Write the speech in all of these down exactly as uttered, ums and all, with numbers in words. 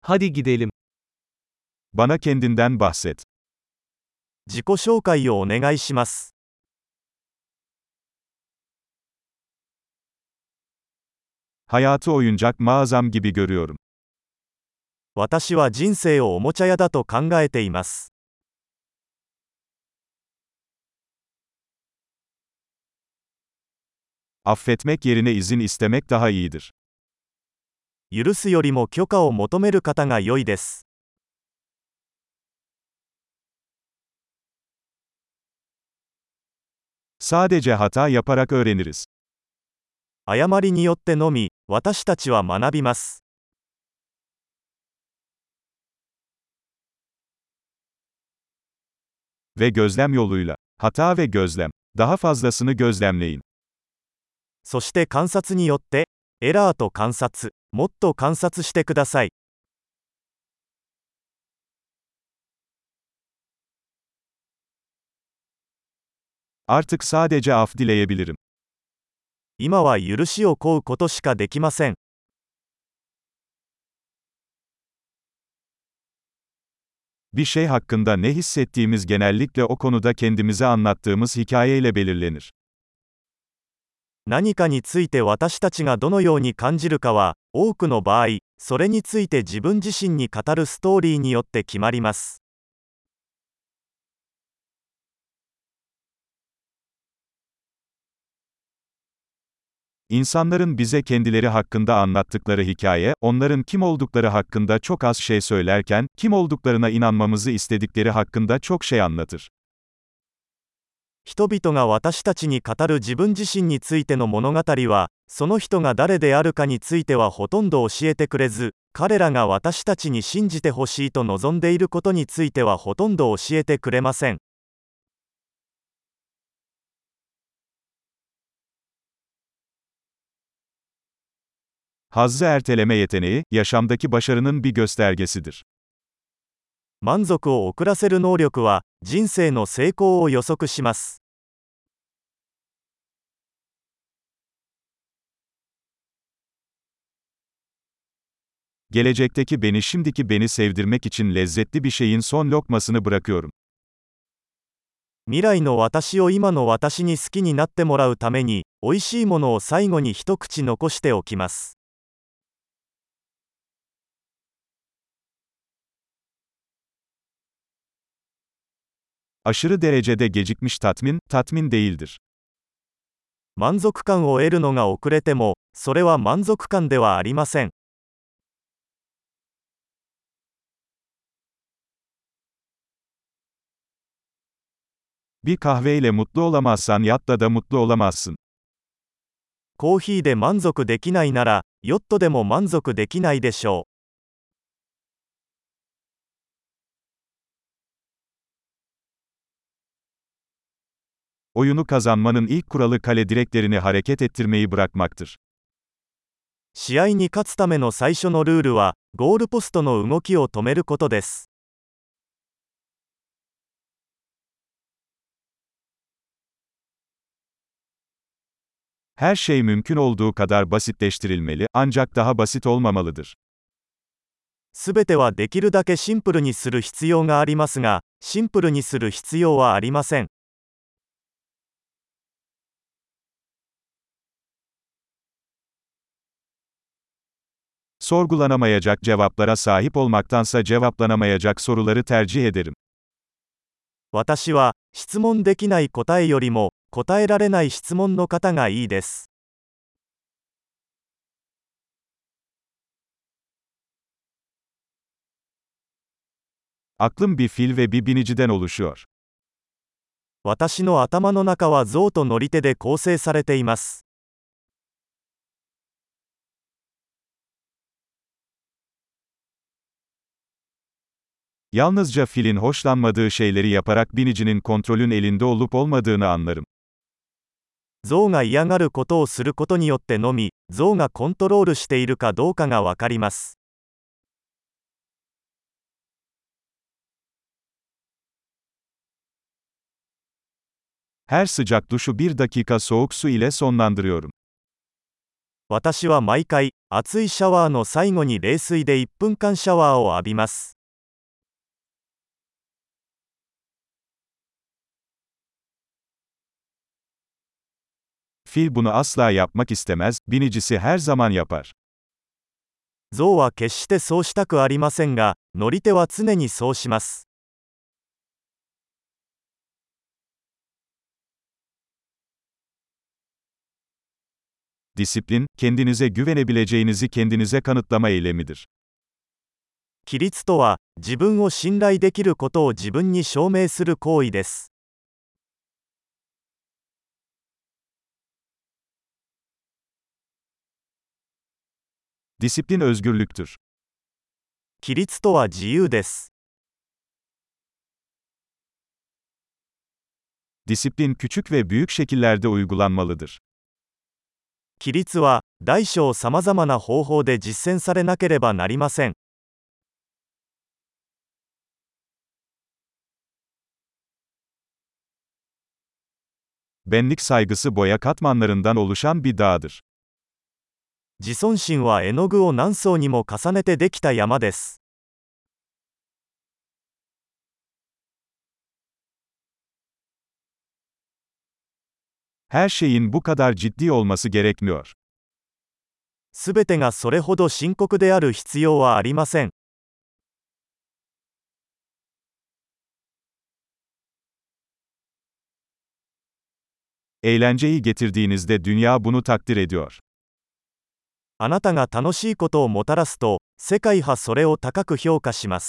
Hadi gidelim. Bana kendinden bahset. 自己紹介をお願いします。 Hayatı oyuncak mağazam gibi görüyorum. 私は人生をおもちゃ屋だと考えています。 Affetmek yerine izin istemek daha iyidir. 許すよりも許可を求める方が良いです。 Sadece hata yaparak öğreniriz. 誤りによってのみ、私たちは学びます。 Ve gözlem yoluyla. Hata ve gözlem. Daha fazlasını gözlemleyin. そして観察によって、エラーと観察、もっと観察してください。 Artık sadece af dileyebilirim. 今は許しを請うことしかできません。 Bir şey hakkında ne hissettiğimiz genellikle o konuda kendimize anlattığımız hikayeyle belirlenir. 何かについて私たちがどのように感じるかは、多くの場合、それについて自分自身に語るストーリーによって決まります。 İnsanların bize kendileri hakkında anlattıkları hikaye, onların kim oldukları hakkında çok az şey söylerken, kim olduklarına inanmamızı istedikleri hakkında çok şey anlatır. 人々が私たちに語る自分自身についての物語は、その人が誰であるかについてはほとんど教えてくれず、彼らが私たちに信じてほしいと望んでいることについてはほとんど教えてくれません。 Hazzı erteleme yeteneği, yaşamdaki başarının bir göstergesidir. 満足を遅らせる能力は、人生の成功を予測します。 Gelecekteki beni şimdiki beni sevdirmek için lezzetli bir şeyin son lokmasını bırakıyorum. 未来の私を今の私に好きになってもらうために、美味しいものを最後に一口残しておきます。 Aşırı derecede gecikmiş tatmin, tatmin değildir. 満足感を得るのが遅れても、それは満足感ではありません。 Bir kahveyle mutlu olamazsan yatla da mutlu olamazsın. コーヒーで満足できないなら、ヨットでも満足できないでしょう。 Oyunu kazanmanın ilk kuralı kale direklerini hareket ettirmeyi bırakmaktır. 試合に勝つための最初のルールは、ゴールポストの動きを止めることです。 Her şey mümkün olduğu kadar basitleştirilmeli, ancak daha basit olmamalıdır. すべてはできるだけシンプルにする必要がありますが、シンプルにする必要はありません。 Sorgulanamayacak cevaplara sahip olmaktansa cevaplanamayacak soruları tercih ederim. 私は、質問できない答えよりも、答えられない質問の方がいいです。 Aklım bir fil ve bir biniciden oluşuyor. 私の頭の中は象と乗り手で構成されています。 Yalnızca filin hoşlanmadığı şeyleri yaparak binicinin kontrolün elinde olup olmadığını anlarım. 象が嫌がることをすることによってのみ、象がコントロールしているかどうかがわかります。 Her sıcak duşu bir dakika soğuk su ile sonlandırıyorum. 私は毎回、 熱いシャワーの最後に冷水でいっぷんかんシャワーを浴びます。 Fil bunu asla yapmak istemez, binicisi her zaman yapar. 象は決してそうしたくありませんが、乗り手は常にそうします。 Disiplin, kendinize güvenebileceğinizi kendinize kanıtlama eylemidir. 規律とは、自分を信頼できることを自分に証明する行為です。 Disiplin özgürlüktür. 規律とは自由です。 Disiplin küçük ve büyük şekillerde uygulanmalıdır. 規律は、大小さまざまな方法で実践されなければなりません。 Benlik saygısı boya katmanlarından oluşan bir dağdır. 自尊心は絵の具を何層にも重ねてできた山です。 Her şeyin bu kadar ciddi olması gerekmiyor. すべてがそれほど深刻である必要はありません。 Eğlenceyi getirdiğinizde dünya bunu takdir ediyor. あなたが楽しいことをもたらすと、世界はそれを高く評価します。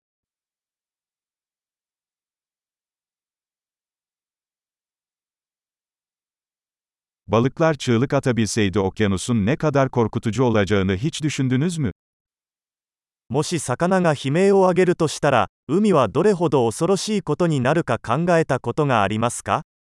Balıklar çığlık atabilseydi okyanusun ne kadar korkutucu olacağını hiç düşündünüz mü? もし魚が悲鳴を上げるとしたら、海はどれほど恐ろしいことになるか考えたことがありますか？